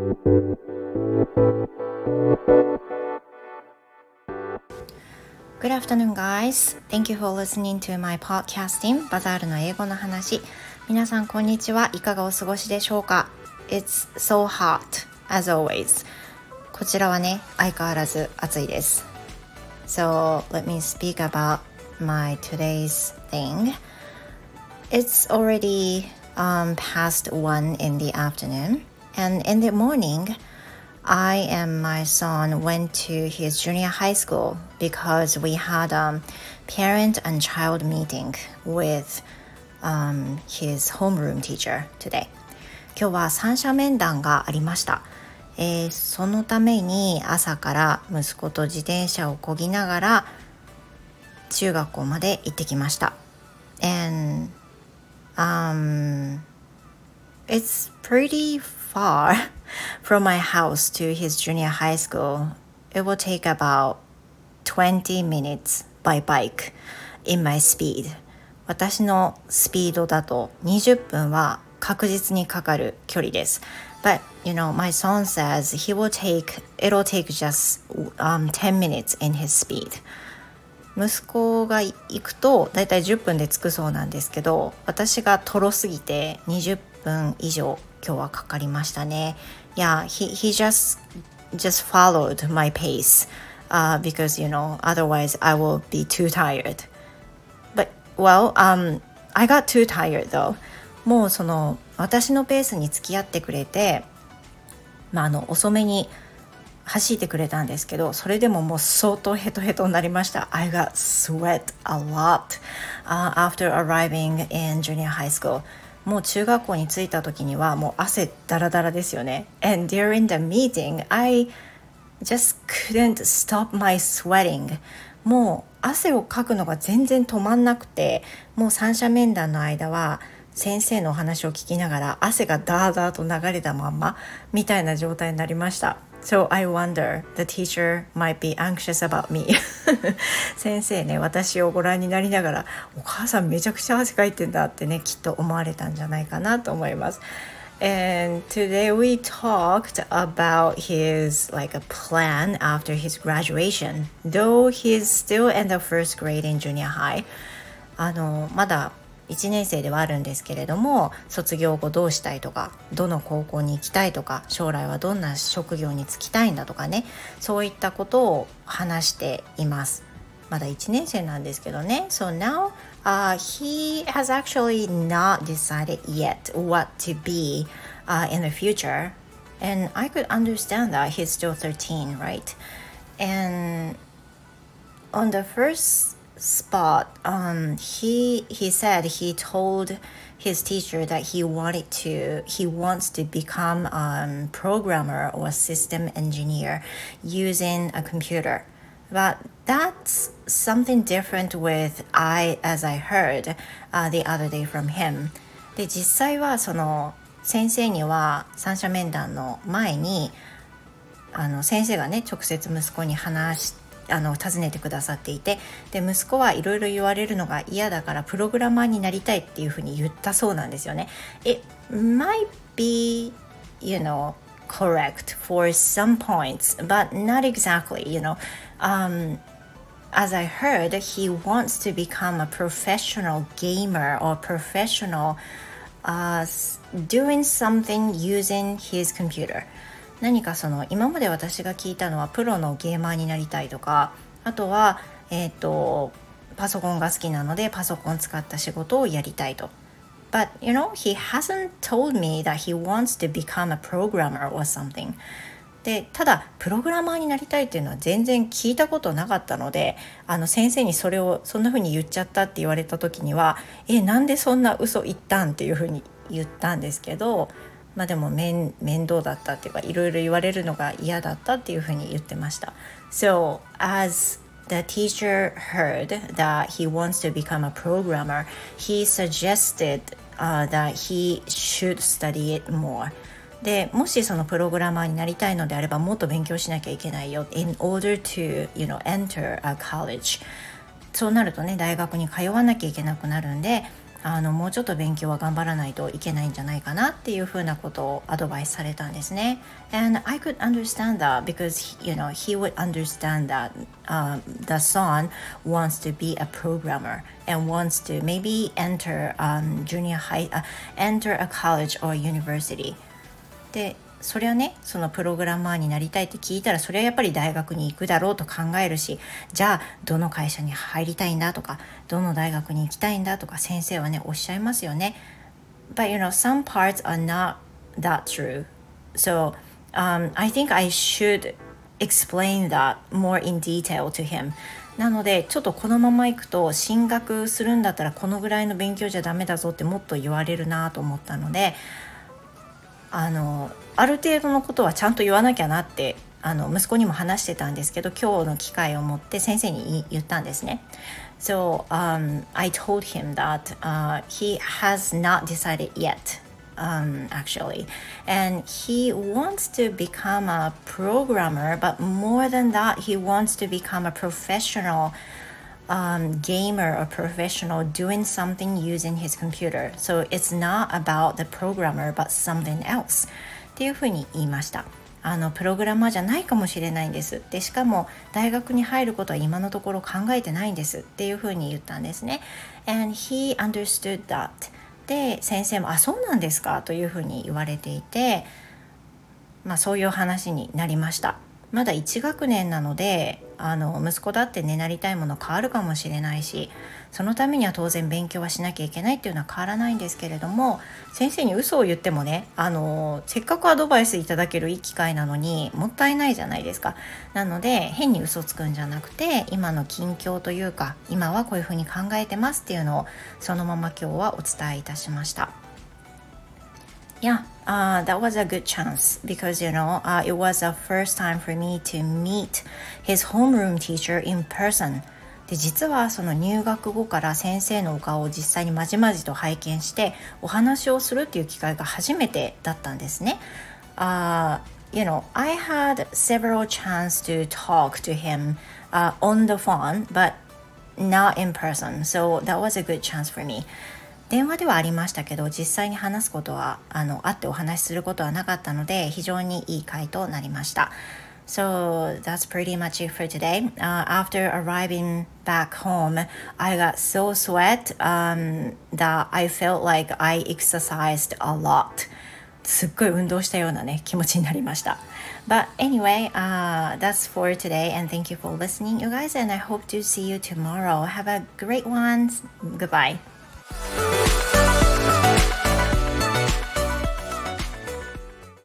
Good afternoon, guys. Thank you for listening to my podcasting バザールの英語の話。皆さんこんにちは。いかがお過ごしでしょうか？ It's so hot, as always. こちらはね、相変わらず暑いです。So, let me speak about my today's thing. It's already past 1 in the afternoon. And in the morning, I and my son went to his junior high school because we had a parent and child meeting with his homeroom teacher today. 今日は三者面談がありました。そのために朝から息子と自転車を漕ぎながら中学校まで行ってきました。And it's pretty far from my house to his junior high school. It will take about 20 minutes by bike in my speed. 私のスピードだと20分は確実にかかる距離です。But, my son says it'll take just 10 minutes in his speed. 息子が行くとだいたい10分で着くそうなんですけど、私がとろすぎて20分以上今日はかかりましたね。Yeah, he just followed my pace, because, otherwise I will be too tired. But, I got too tired though. もう私のペースに付き合ってくれて、遅めに走ってくれたんですけど、それでももう相当ヘトヘトになりました。I got sweat a lot, after arriving in junior high school. もう中学校に着いた時にはもう汗だらだらですよね。And during the meeting, I just couldn't stop my sweating. もう汗をかくのが全然止まんなくて、もう三者面談の間は先生のお話を聞きながら汗がダーダーと流れたまんまみたいな状態になりました。So I wonder, the teacher might be anxious about me. 先生ね、私をご覧になりながら、お母さんめちゃくちゃ汗かいてんだってね、きっと思われたんじゃないかなと思います。And today we talked about his a plan after his graduation, though he's still in the first grade in junior high. まだ1年生ではあるんですけれども、卒業後どうしたいとか、どの高校に行きたいとか、将来はどんな職業に就きたいんだとかね、そういったことを話しています。まだ1年生なんですけどね。So now, he has actually not decided yet what to be in the future. And I could understand that he's still 13, right? And on the first spot, he said he told his teacher that he wants to become a programmer or system engineer using a computer. But that's something different as I heard the other day from him. で、実際は先生には三者面談の前に先生がね、直接息子に尋ねてくださっていて、で息子はいろいろ言われるのが嫌だからプログラマーになりたいっていうふうに言ったそうなんですよね。It might be, correct for some points, but not exactly, as I heard, he wants to become a professional gamer or professional doing something using his computer.何か今まで私が聞いたのはプロのゲーマーになりたいとか、あとは、パソコンが好きなのでパソコン使った仕事をやりたいと。But, he hasn't told me that he wants to become a programmer or something. で、ただプログラマーになりたいっていうのは全然聞いたことなかったので、先生にそれをそんな風に言っちゃったって言われた時には、なんでそんな嘘言ったんっていう風に言ったんですけど、でも面倒だったっていうか、いろいろ言われるのが嫌だったっていうふうに言ってました。So, as the teacher heard that he wants to become a programmer, he suggested that he should study it more. で、もしそのプログラマーになりたいのであれば、もっと勉強しなきゃいけないよ。In order to, enter a college. そうなるとね、大学に通わなきゃいけなくなるんで、 もうちょっと勉強は頑張らないといけないんじゃないかなっていうふうなことをアドバイスされたんですね。And I could understand that because he would understand that the son wants to be a programmer and wants to maybe enter enter a college or university. でそれはね、そのプログラマーになりたいって聞いたら、それはやっぱり大学に行くだろうと考えるし、じゃあどの会社に入りたいんだとか、どの大学に行きたいんだとか先生はねおっしゃいますよね。But some parts are not that true. So I think I should explain that more in detail to him. なのでちょっとこのまま行くと、進学するんだったらこのぐらいの勉強じゃダメだぞってもっと言われるなと思ったので、ある程度のことはちゃんと言わなきゃなって息子にも話してたんですけど、今日の機会を持って先生に言ったんですね。So I told him that he has not decided yet, actually, and he wants to become a programmer, but more than that, he wants to become a professional gamer or professional doing something using his computer. So it's not about the programmer, but something else. っていうふうに言いました。プログラマーじゃないかもしれないんです。で、しかも大学に入ることは今のところ考えてないんですっていうふうに言ったんですね。And he understood that. で、先生もそうなんですかというふうに言われていて、そういう話になりました。まだ1学年なので息子だってね、なりたいもの変わるかもしれないし、そのためには当然勉強はしなきゃいけないっていうのは変わらないんですけれども、先生に嘘を言ってもね、せっかくアドバイスいただけるいい機会なのにもったいないじゃないですか。なので変に嘘つくんじゃなくて、今の近況というか、今はこういうふうに考えてますっていうのをそのまま今日はお伝えいたしました。Yeah, that was a good chance because, it was the first time for me to meet his homeroom teacher in person. で、実はその入学後から先生のお顔を実際にまじまじと拝見してお話をするっていう機会が初めてだったんですね。I had several chance to talk to him on the phone, but not in person. So that was a good chance for me.電話ではありましたけど、実際に話すことは会ってお話しすることはなかったので、非常にいい回となりました。So that's pretty much it for today. After arriving back home, I got so sweat that I felt like I exercised a lot. すっごい運動したようなね、気持ちになりました。But anyway, that's for today, and thank you for listening, you guys, and I hope to see you tomorrow. Have a great one. Goodbye.